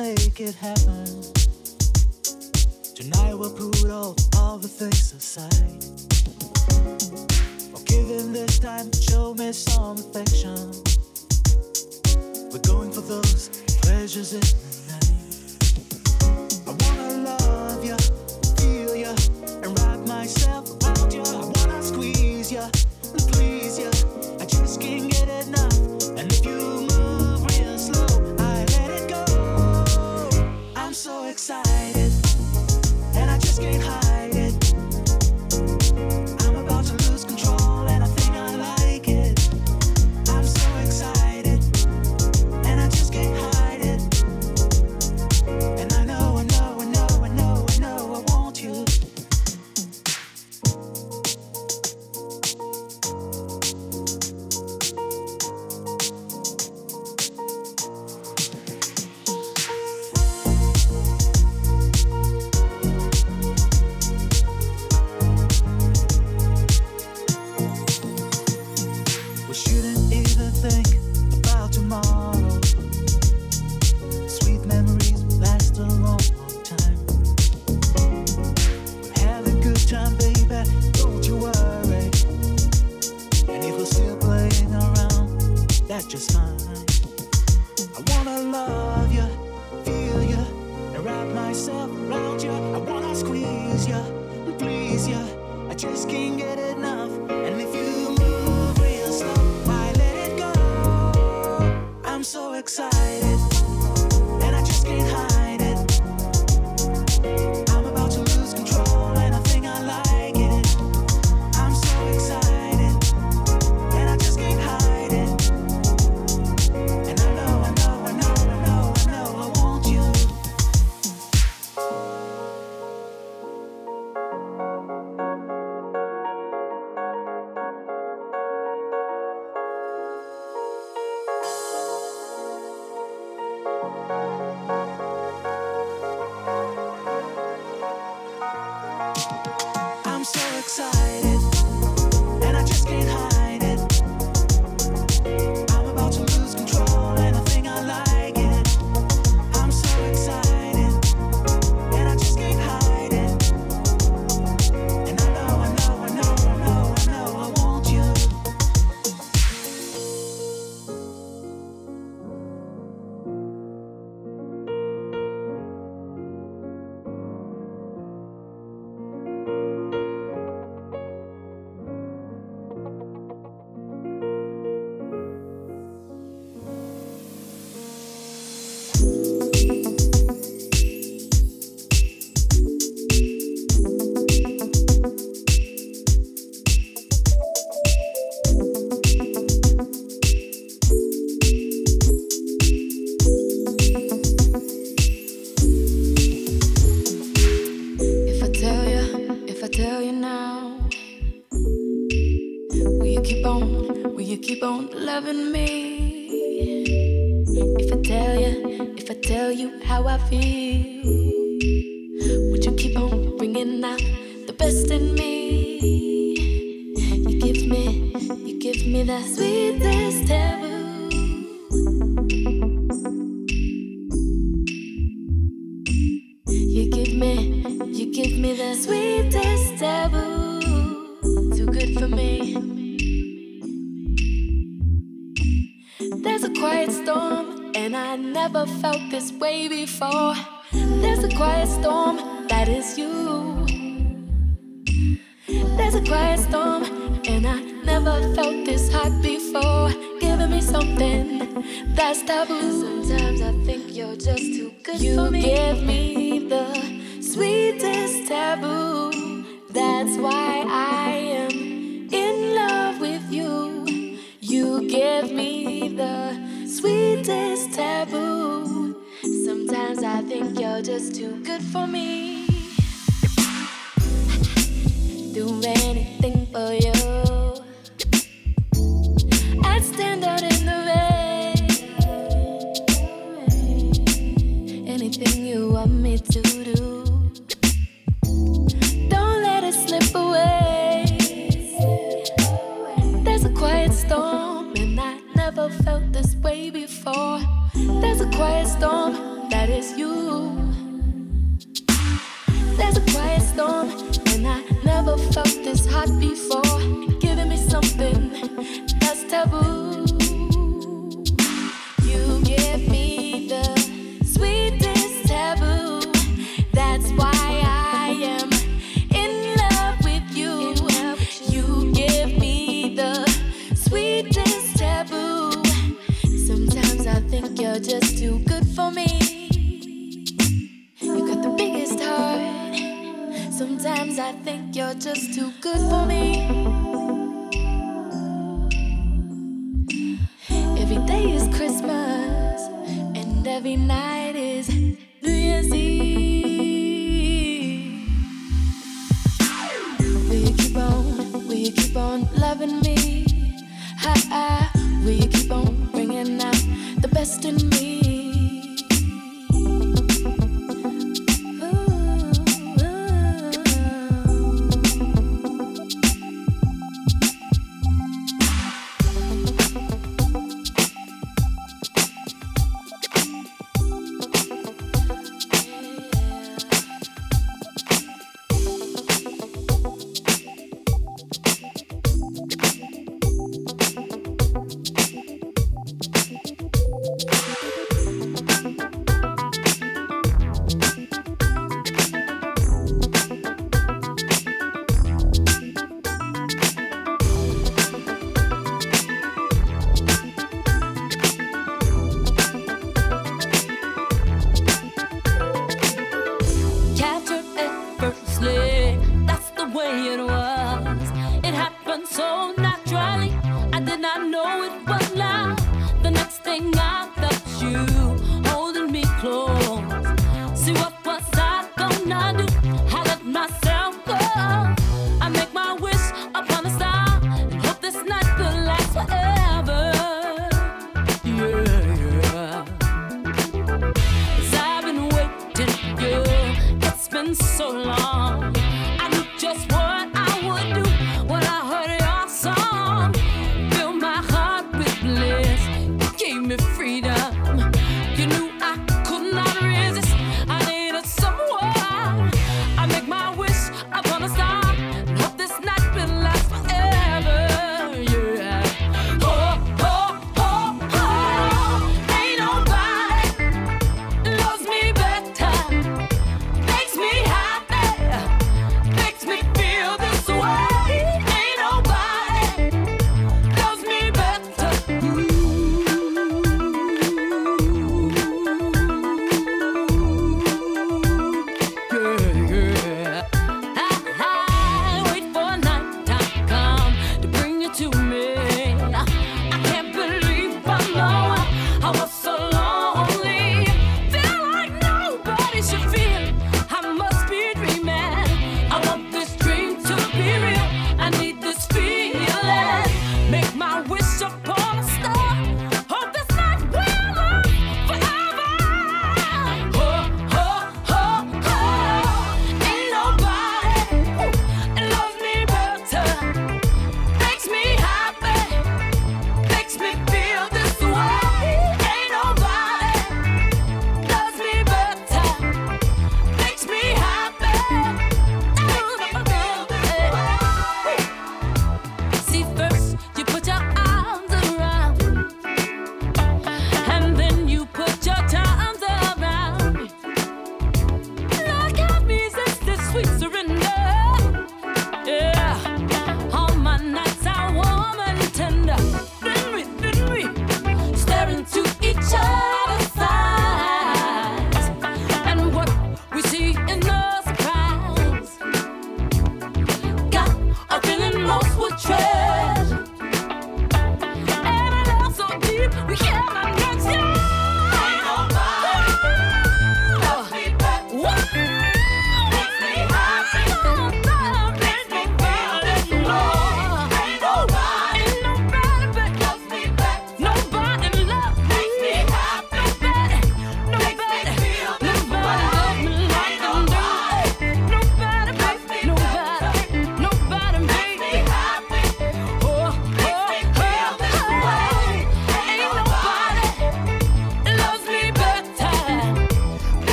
make it happen. Tonight we'll put all the things aside. Forgive this time, show me some affection. We're going for those pleasures in the night. I wanna love you, feel you, and wrap myself around you. I wanna squeeze you, and please you. I just can't get enough. And if you move real slow, I let it go. I'm so excited, and I just can't hide it. I'm about to lose control, and I think I like it. I'm so excited, and I just can't hide it. And I know, I know, I know, I know, I know I want you. We shouldn't even think about tomorrow. Sweet memories last a long, long time. We're having a good time, baby, don't you worry. And if we're still playing around, that's just fine. I wanna love you, feel you, and wrap myself around you. I wanna squeeze you, and please you. I just can't get enough. And if you move real slow, I let it go. I'm so excited, and I just can't hide it. I'm about to lose control, and I think I like it. I'm so excited, and I just can't hide it. And I know, I know, I know, I know, I know I want you. I'm so excited, and I just can't hide it. I'm about to lose control, and I think I like it. I'm so excited, and I just can't hide it. And I know, I know, I know, I know, I know I want you. If I tell you now, will you keep on loving me? If I tell you how I feel, would you keep on bringing out the best in me? You give me that sweetest taboo. You give me the sweetest taboo. Too good for me. There's a quiet storm, and I never felt this way before. There's a quiet storm, that is you. There's a quiet storm, and I never felt this hot before. Giving me something that's taboo. Sometimes I think you're just too good for me. You give me the sweetest taboo. That's why I am in love with you. You give me the sweetest taboo. Sometimes I think you're just too good for me. Do anything for you. I'd stand out in the rain. Anything you want me to do. Don't let it slip away. There's a quiet storm, and I never felt this way before. There's a quiet storm, that is just too good for me. You got the biggest heart. Sometimes I think you're just too good for me. Every day is Christmas, and every night is New Year's Eve. Will you keep on loving me? Will you keep on bringing out the best in me?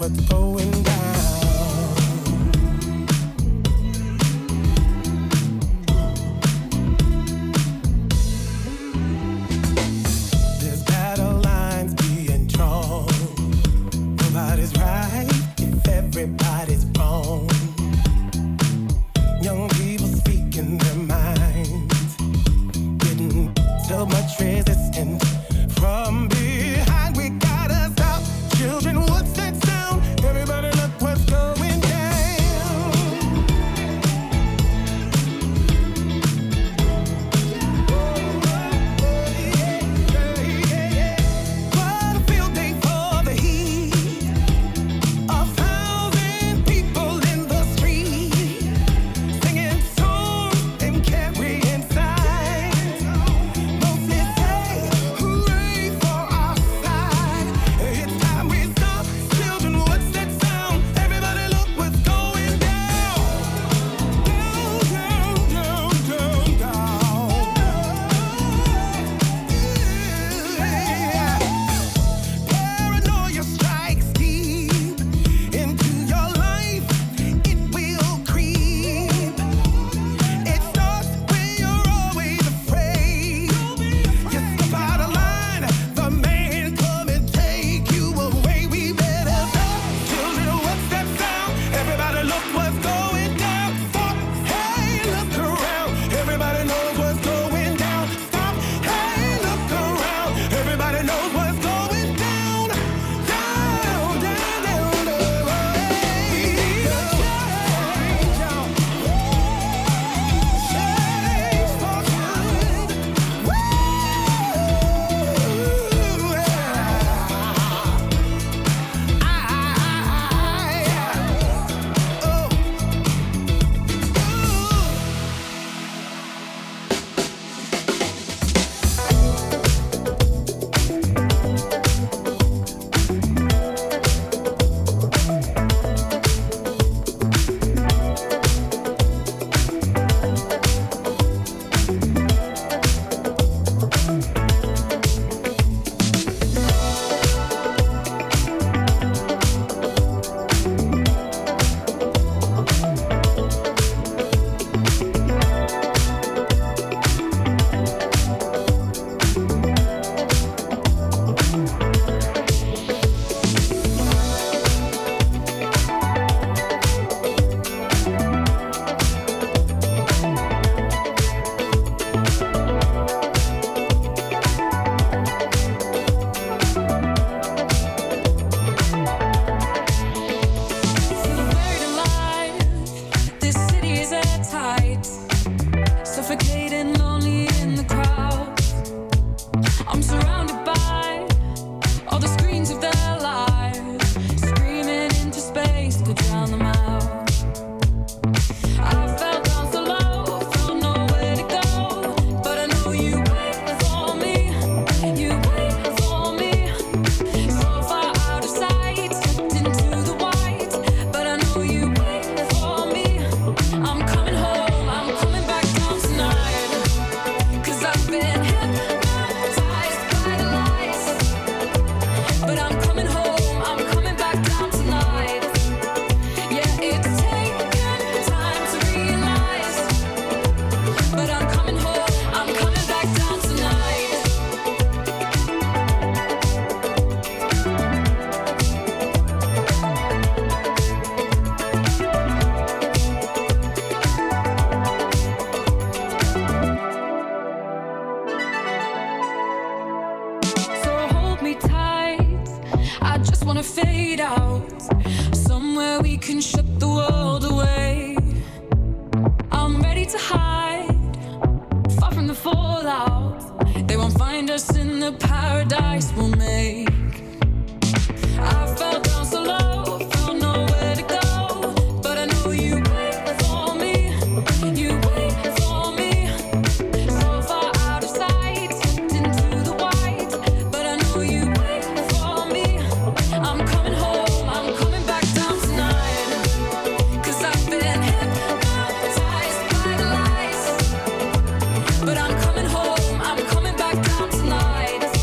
what's going down. There's battle lines being drawn. Nobody's right if everybody's wrong. Young people speaking their minds, getting so much resistance from behind. We gotta stop. Children, what's that sound? Everybody look what's going down. What a field day for the heat. 1,000 people in the street, singing songs and carrying signs. Mostly say hooray for our side. It's time we stop. Children, what's that sound? Everybody look what's going down. Down, down, down, down, down. Paranoia strikes deep into your life. It will creep. It starts when you're always afraid. You step out of line, the man come and take you away. We better stop. Children, what's that sound? Everybody look what's going down. Stop, hey, look around. Everybody knows what's going down. Stop, hey, look around. Everybody knows what's going down. Down, down, down, down. We need a change. Change for good. Woo! Buried alive, this city is airtight, suffocating, lonely in the crowd. I'm surrounded by all the screens of their lives, screaming into space to drown them out. I fell down so low, felt nowhere to go, but I know you wait for me, you wait for me. So far out of sight, slipped into the white, but I know you wait for me. I'm coming home, I'm coming back down tonight, 'cause I've been hypnotized by the lights. But I'm coming home, I'm coming back down tonight. Yeah, it's taken time to realize, but I'm coming home, I'm coming back down tonight. So hold me tight, I just wanna fade out, somewhere we can shut the world away. I'm ready to hide, far from the fallout. They won't find us in the paradise we'll make. I fell down so low, felt nowhere to go, but I know you wait for me, you wait for me. So far out of sight, slipped into the white, but I know you wait for me. I'm coming home, I'm coming back down tonight, 'cause I've been hypnotized by the lights. But I'm coming home, I'm coming back down tonight.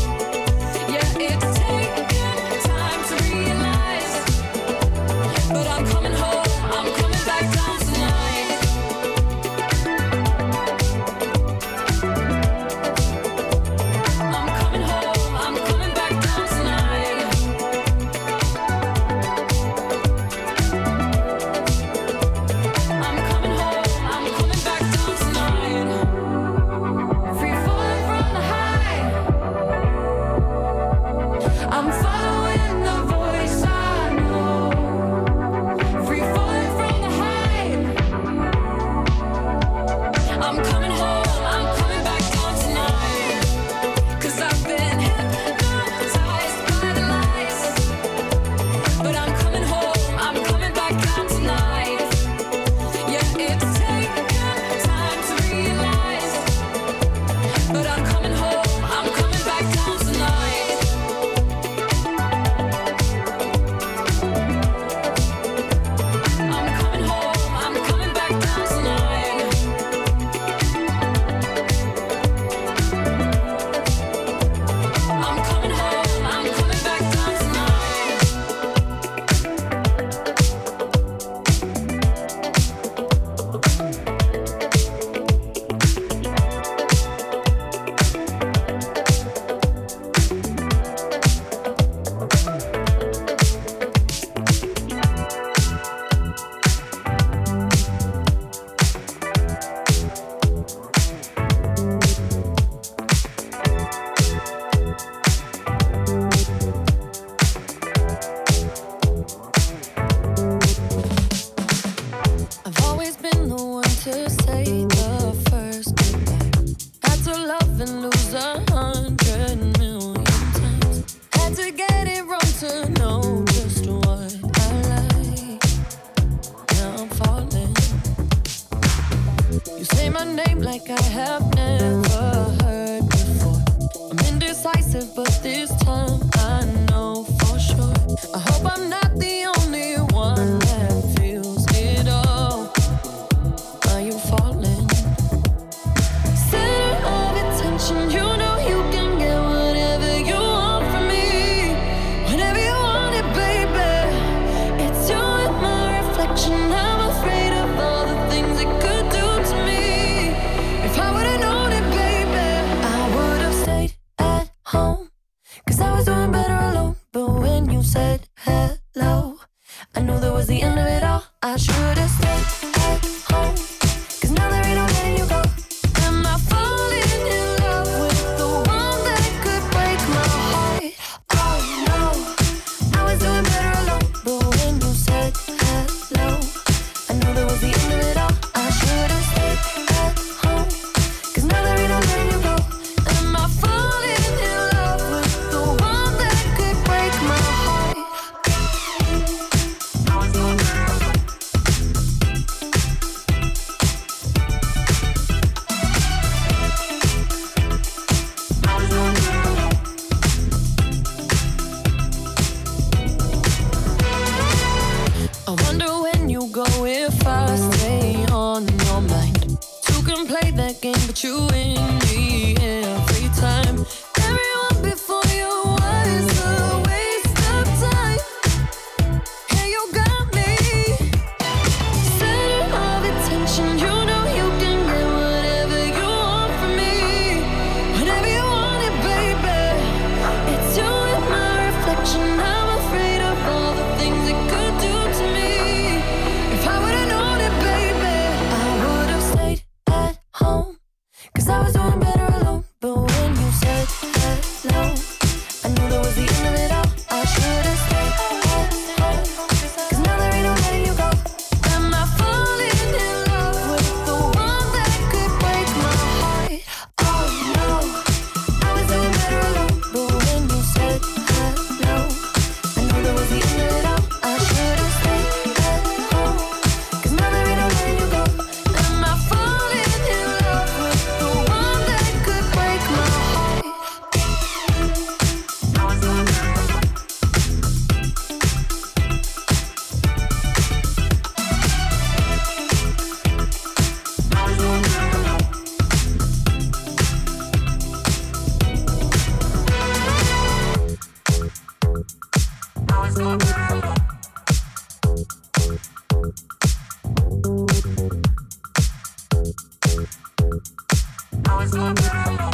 love and lose 100 million times. Had to get it wrong to know just what I like. Now I'm falling. You say my name like I have never heard before. I'm indecisive, but this time I know for sure. I hope I'm not the only one that feels it all. Are you falling? Center of attention, you know you can get whatever you want from me. Whenever you want it, baby. It's you and my reflection. I'm afraid of all the things it could do to me. If I would've known it, baby, I would've stayed at home. 'Cause I was doing better alone. But when you said hello, I knew that was the end of it all. I should've stayed at home. 'Cause now there ain't no letting you go. Am I falling in love with the one that could break my heart? Oh no, I was doing better alone. But when you said hello, I knew that was the end of it all. I should've stayed at home. 'Cause now there ain't no letting you go. Am I falling in love with the one that could break my heart? I was doing better alone. I was doing better alone. I wonder when you go if I stay on your mind. Two can play that game, but you win me every time. Everyone before you was a waste of time. Hey, you got me. Center of attention, you know you can get whatever you want from me. Whenever you want it, baby. It's you and my reflection. I'm afraid of all the things it could do to me. If I would've known it, baby, I would've stayed at home. 'Cause I was doing better alone. But when you said hello, I knew that was the end of it all. I should've stayed at home. 'Cause now there ain't no letting you go. Am I falling in love with the one that could break my heart? Oh no, I was doing better alone. But when you said hello, I knew that was the end of it all. I should've stayed at home. 'Cause now there ain't no letting you go. Am I falling in love with the one that could break my heart? I was doing better alone. I was doing better alone. I was doing better alone. I was doing better alone.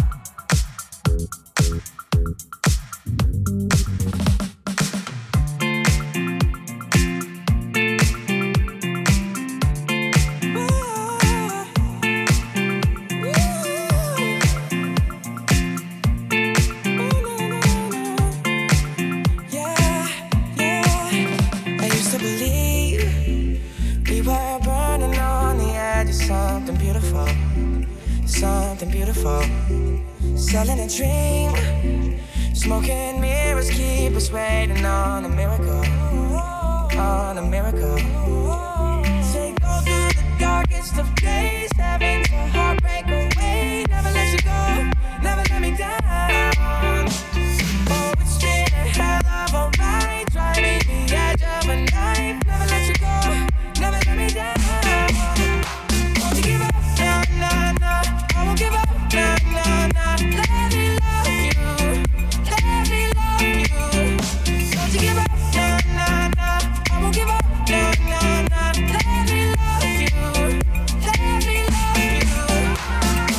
I used to believe we were burning on the edge of something beautiful, something beautiful. Selling a dream, smoking mirrors keep us waiting on a miracle, on a miracle. Say go through the darkest of days, heaven's a heartbreak away. Never let you go, never let me down. Oh, it's been a hell of a ride, driving the edge of a knife. Never let you go, never let me down. Won't you give up? Nah, nah, nah. I won't give up. Nah, nah, nah. Let me love you. Let me love you. Won't you give up? Nah, nah, nah. I won't give up. Nah, nah, nah. Let me love you. Let me love you.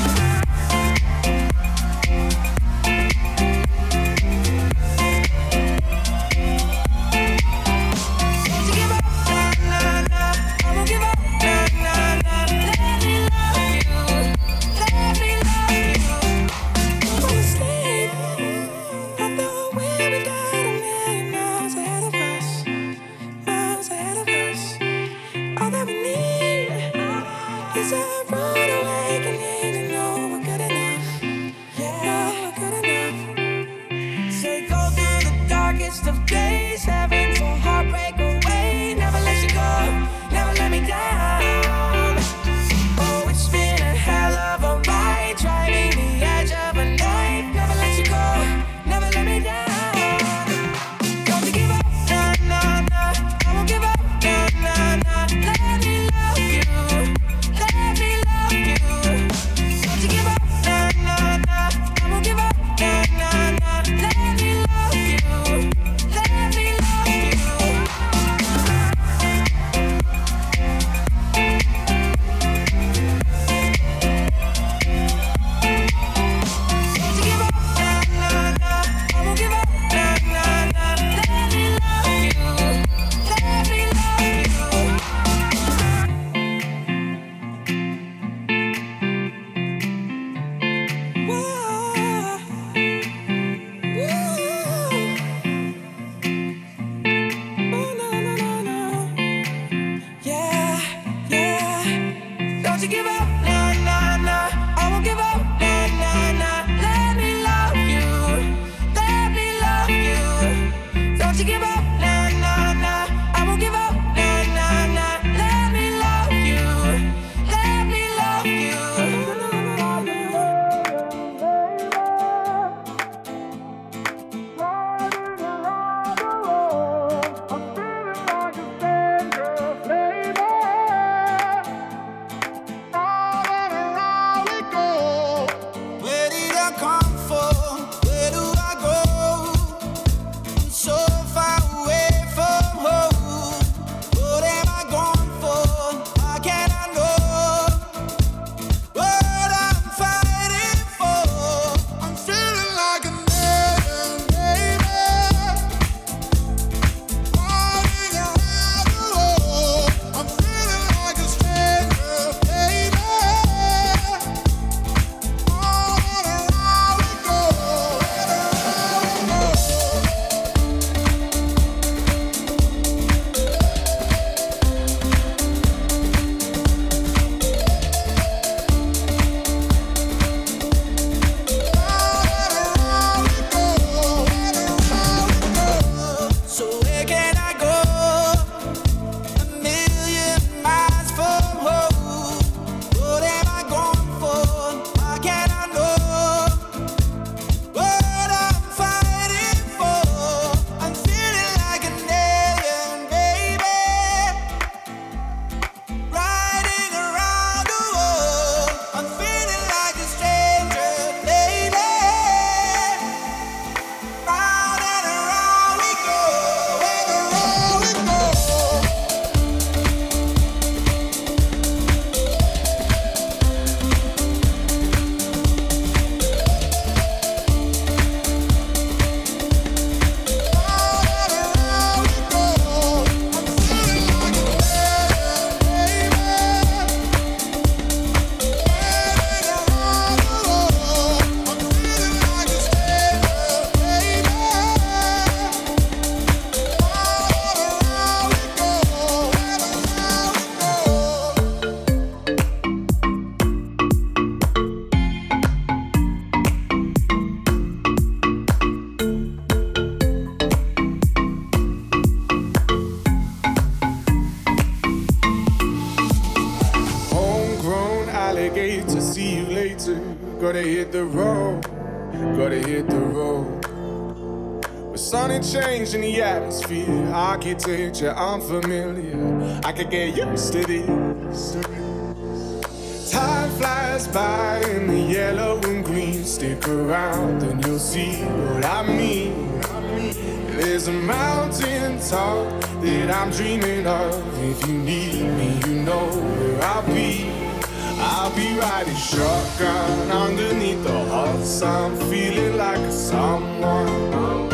hit the road, gotta hit the road. With sunny change in the atmosphere, architecture unfamiliar. I could get used to this. Time flies by in the yellow and green. Stick around and you'll see what I mean. There's a mountain top that I'm dreaming of. If you need me, you know where I'll be. I'll be riding shotgun underneath the hot sun, feeling like a someone.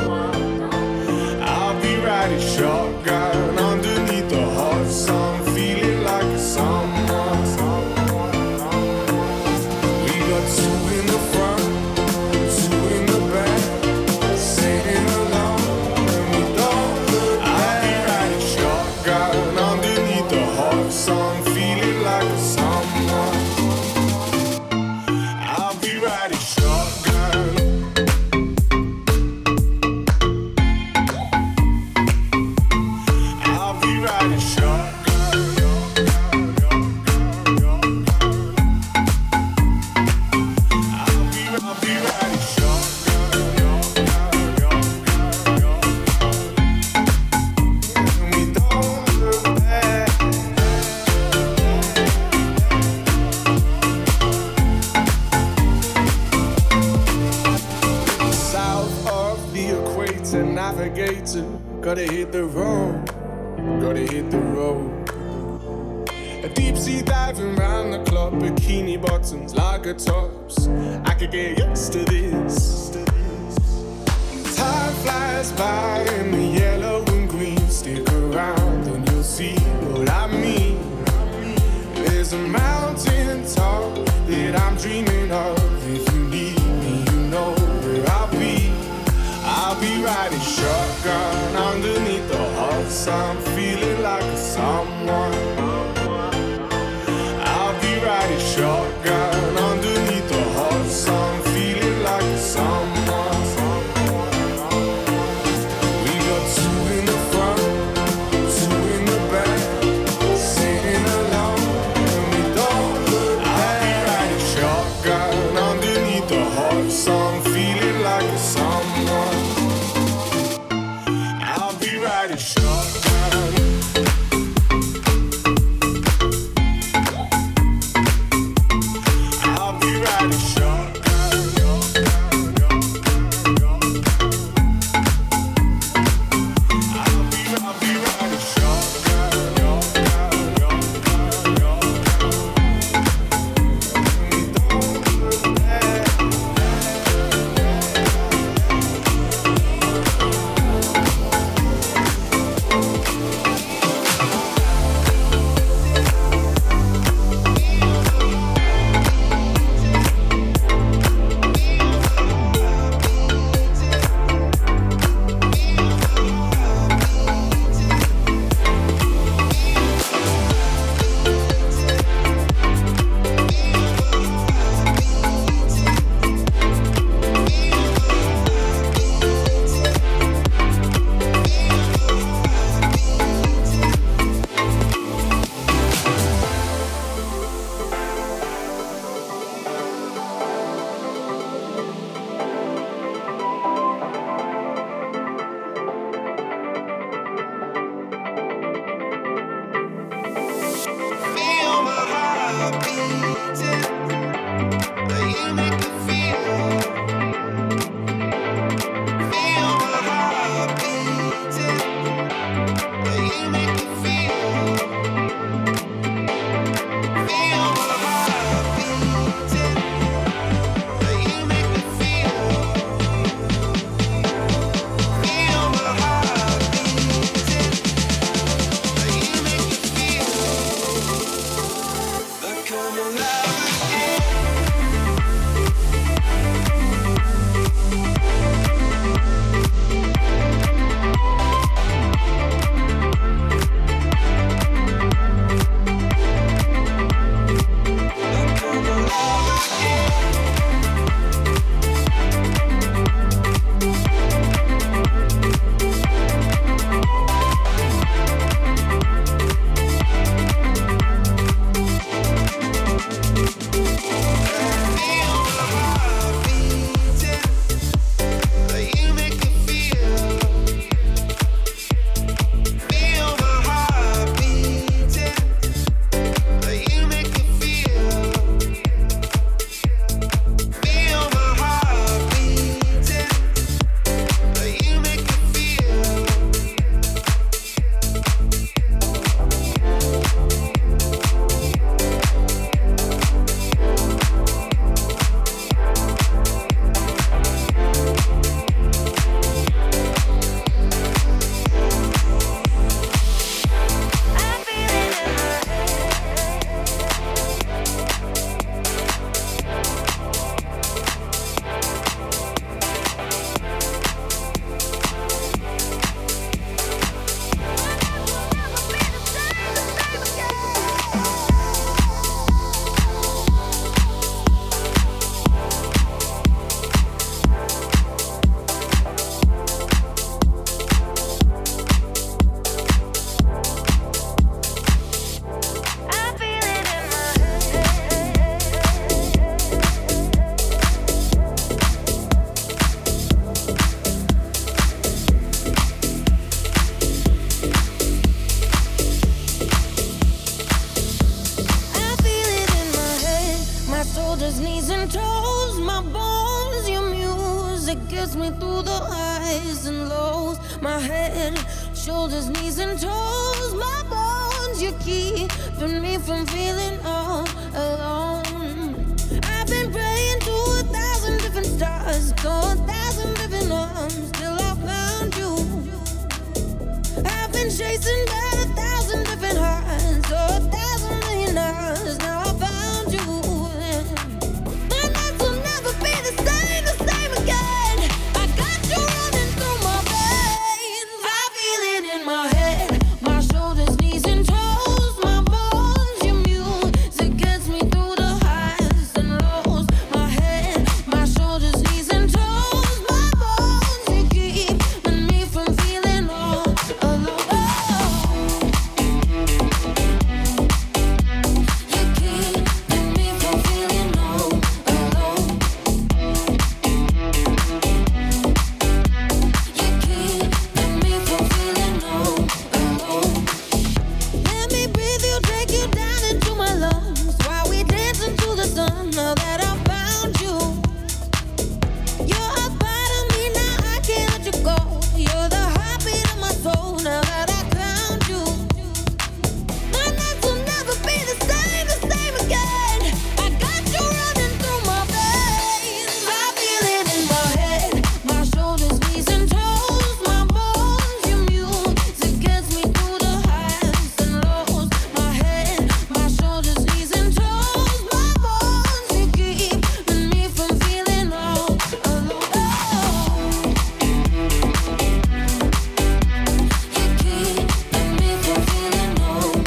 I'll be riding shotgun underneath the hot sun, feeling like a someone. We got two in the front, two in the back, singing along when we don't look back. I'll be riding shotgun underneath the hot sun, feeling like a someone. I'll be riding shotgun. I'll be riding shotgun. I'll be riding shotgun. And we don't look back. South of the equator, navigator, gotta hit the road, gotta hit the road. A deep sea diving round the clock, bikini bottoms, lager tops. I could get used to this. Time flies by in the yellow and green. Stick around and you'll see what I mean. There's a mountain top that I'm dreaming of. If you need me, you know where I'll be. I'll be riding shotgun underneath the hot sun, feeling like a someone. I'll be riding shotgun underneath the hot sun, feeling like a someone. We got two in the front, two in the back, singing along when we don't look back. I'll be riding shotgun underneath the hot sun, feeling like a someone. I'll be riding shotgun. I'll be riding shotgun. I'll be riding shotgun. music gets me through the highs and lows. My head, shoulders, knees and toes. My bones, you keeping me from feeling all alone. I've been praying to 1,000 different stars, to 1,000 different arms, till I found you. I've been chasing down 1,000 different hearts, to 1,000 million hours. Now I found you. My nights will never be the same again. I got you running through my veins. I feel it in my head, my shoulders, knees and toes, my bones. Your music gets me through the highs and lows. My head, my shoulders, knees and toes, my bones. You keeping me from feeling all alone. You keeping me from feeling all alone. You keeping me from feeling all alone. Let me breathe you, take you down into my lungs while we dance into the sun. Now that I found you, you're a part of me now. I can't let you go. You're the heartbeat of my soul. Now that I found you, my nights will never be the same again. I got you running through my veins. I feel it in my head, my shoulders, knees and toes, my bones. Your music gets me through the highs and lows. My head, my shoulders, knees and toes, my bones. You keeping me from feeling all alone. You keeping me from feeling all alone.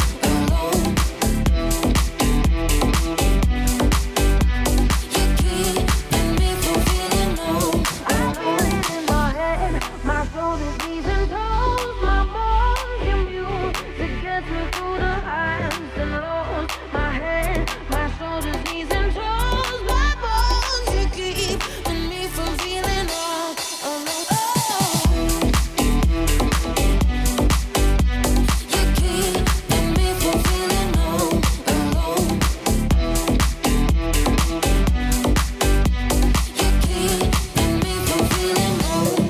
You keeping me from feeling low. I feel it in my head, my shoulders, knees and toes, my bones. Your music gets me through the highs and lows. My head, my shoulders, knees and toes, my bones. You keeping me from feeling all alone. You keeping me from feeling all alone. You keeping me from feeling all alone.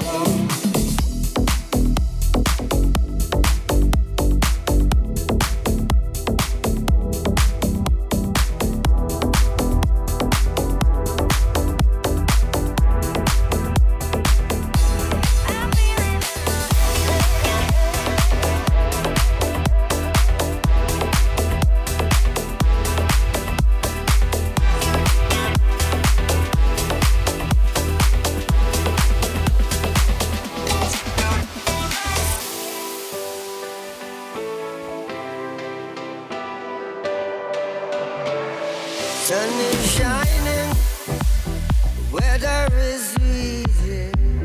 Sun is shining, weather is easy.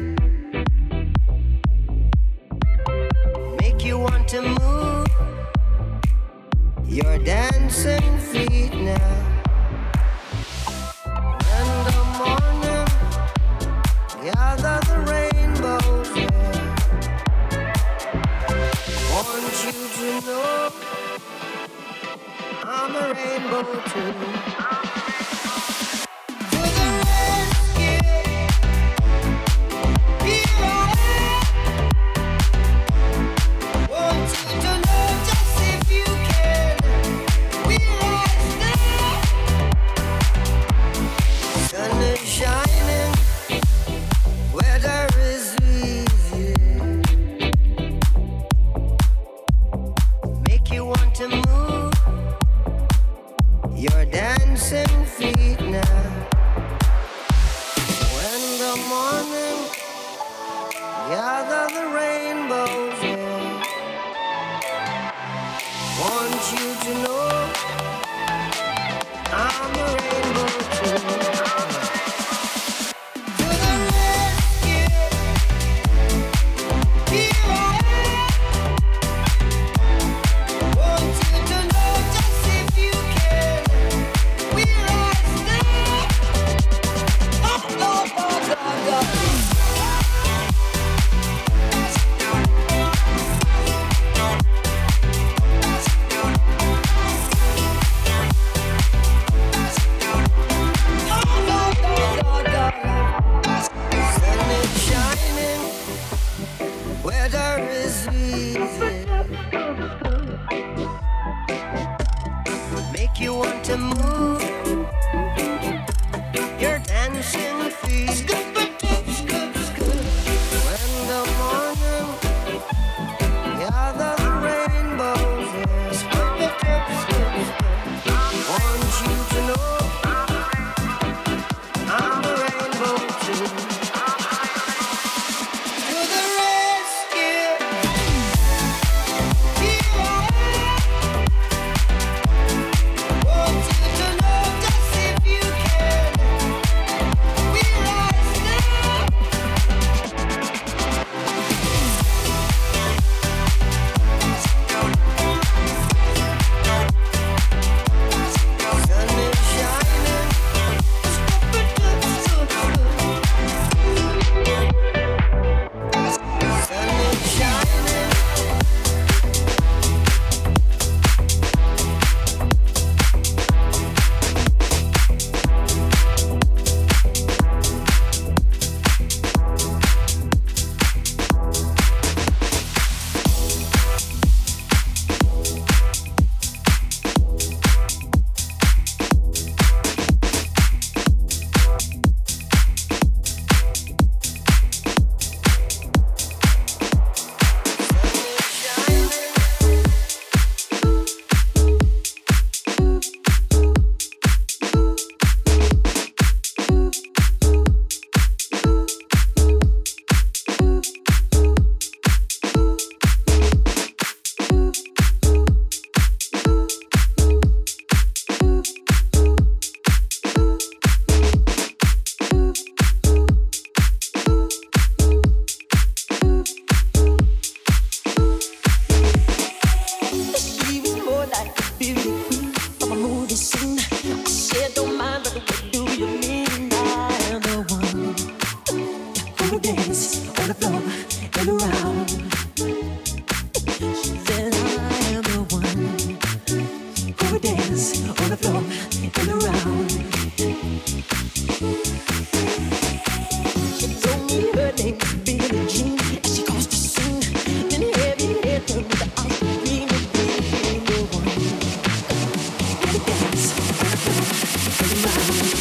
Make you want to move your dancing feet now. In the morning, gather the rainbows, yeah. Want you to know I'm a rainbow too. To the rescue, here I am. Want you to know just if you can, we're right there. Sun is shining, weather is easy. Make you want to move your dancing feet now. When the morning gather the rainbows, yeah. Want you to know I'm a rainbow too. To the rescue, here I am. Want you to know just if you can, we're right there. Oh, oh, oh, oh, oh. dance on the floor and around. She said I am the one who would dance on the floor and around. She told me her name was Billie Jean, and she caused a scene. Then heavy hit her with the ice cream and being the one who would dance on the floor and around.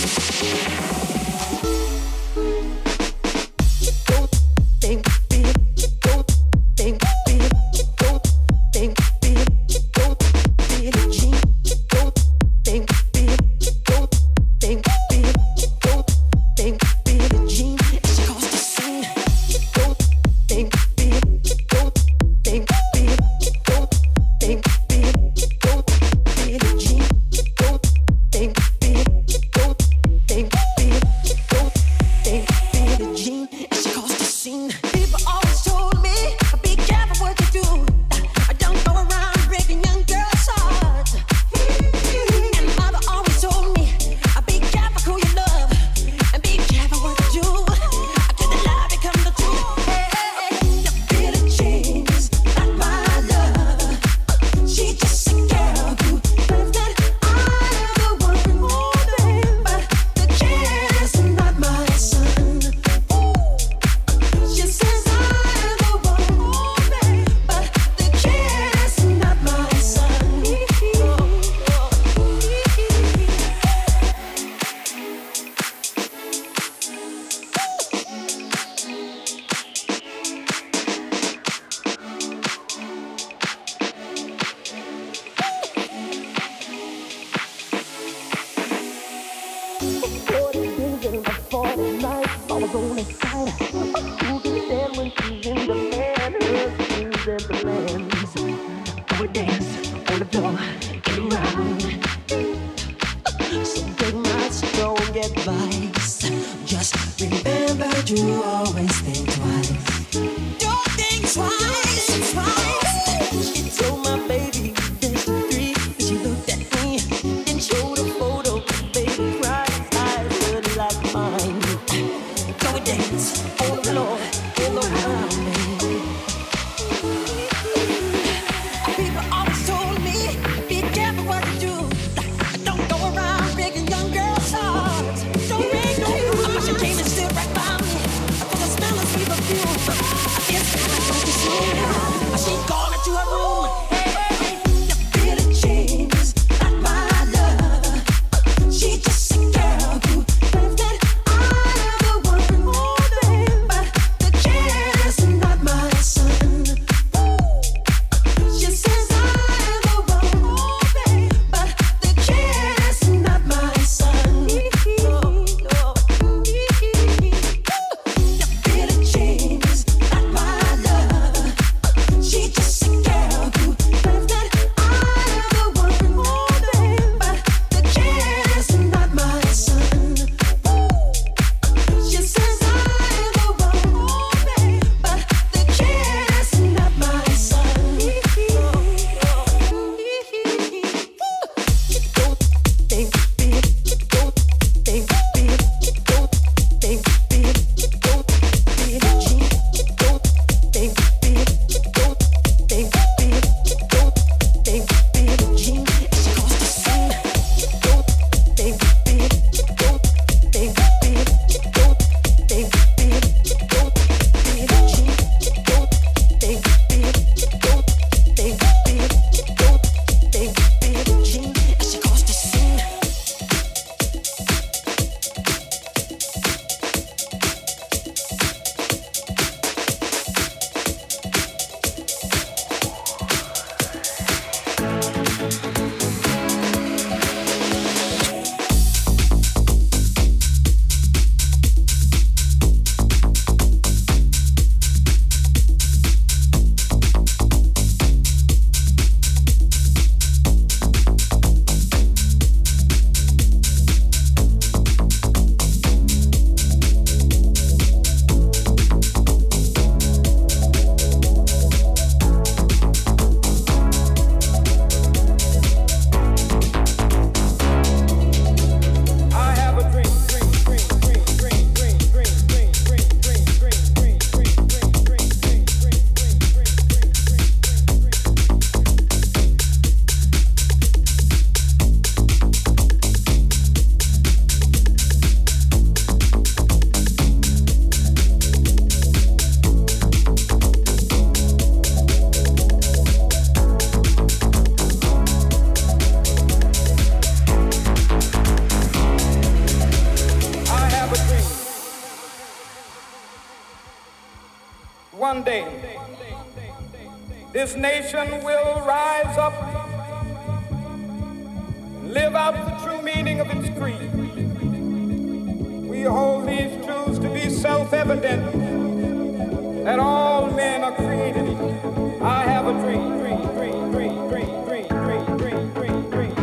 Good. one day, this nation will rise up and live out the true meaning of its creed. We hold these truths to be self-evident, that all men are created equal. I have a dream, dream, dream, dream, dream, dream, dream, dream, dream, dream.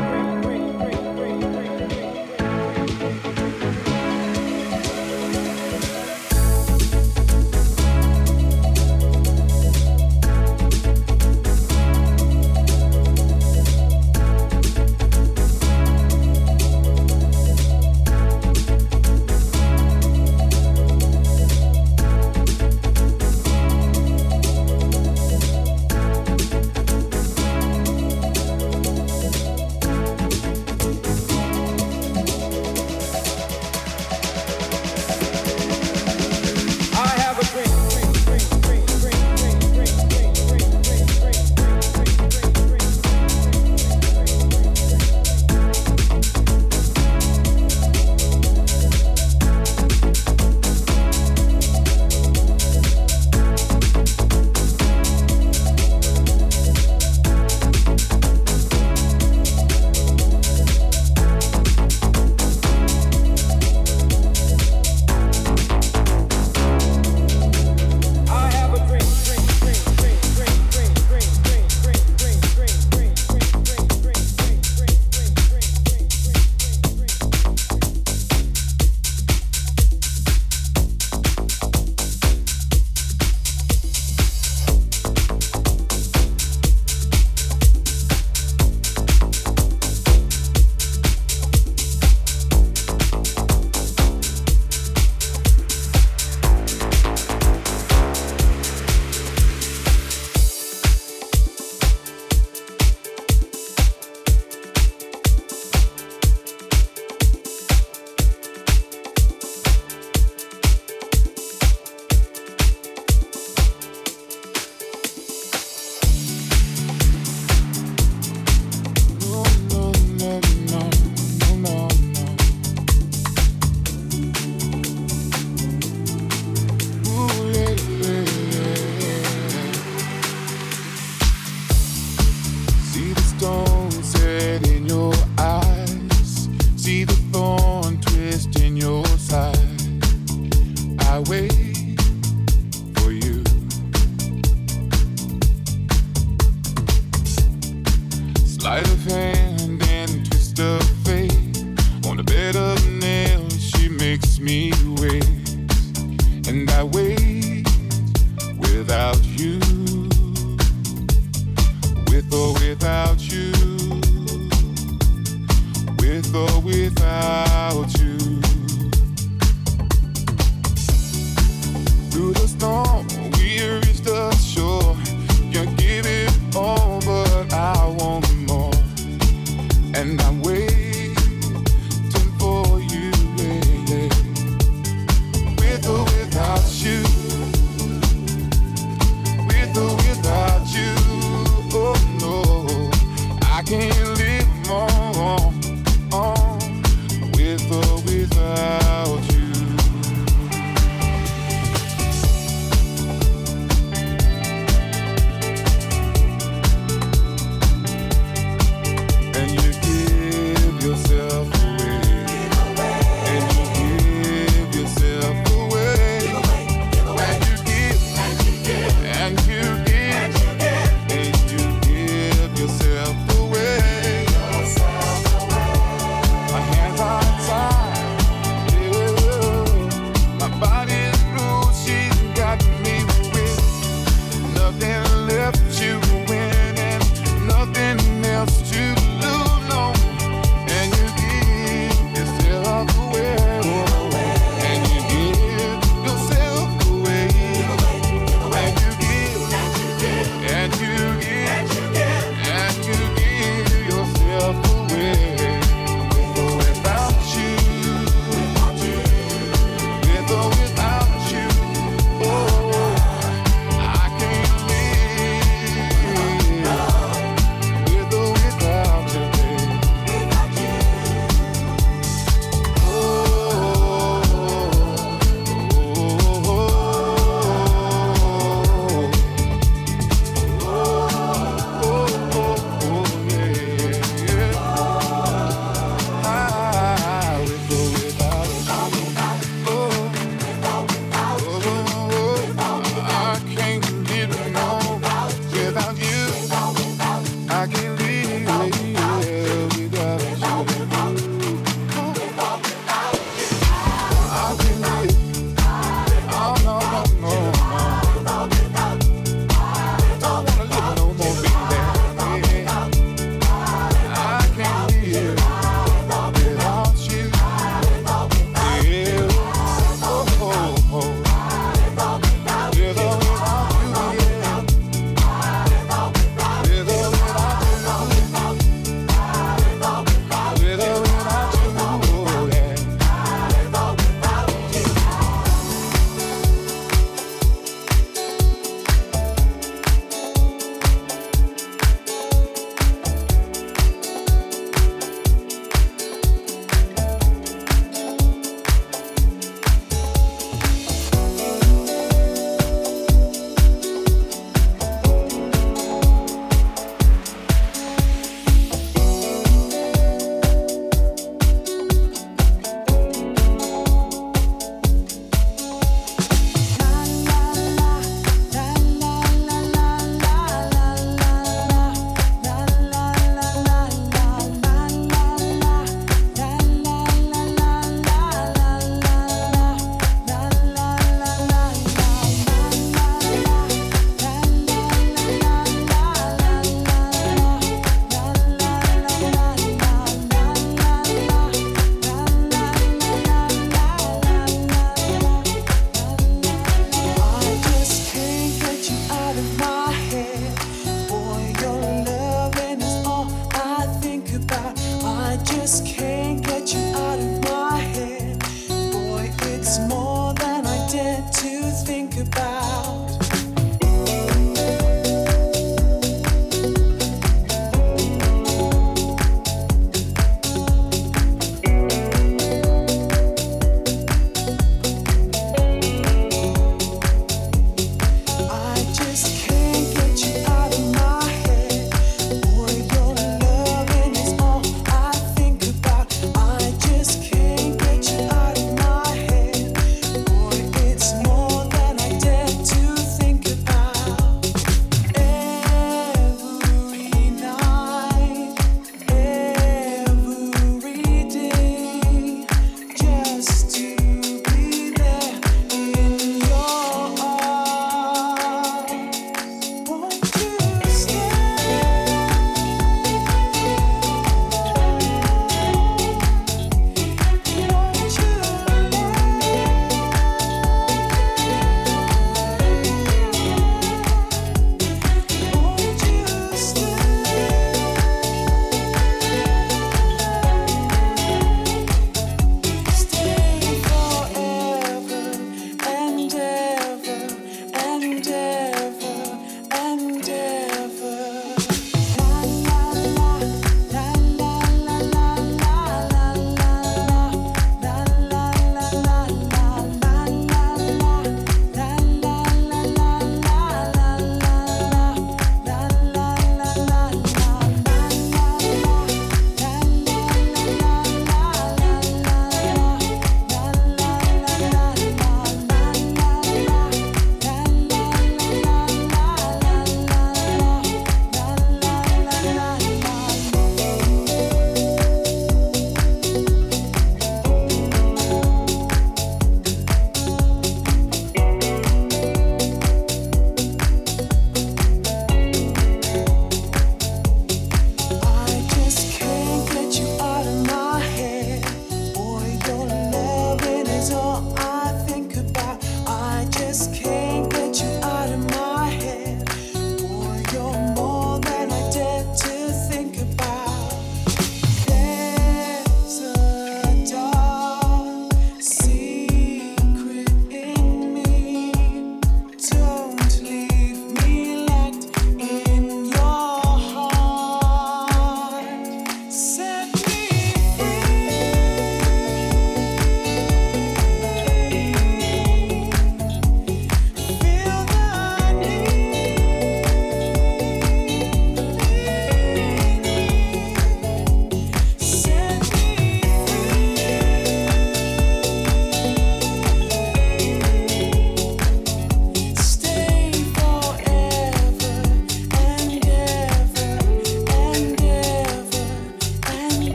think about.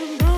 somebody.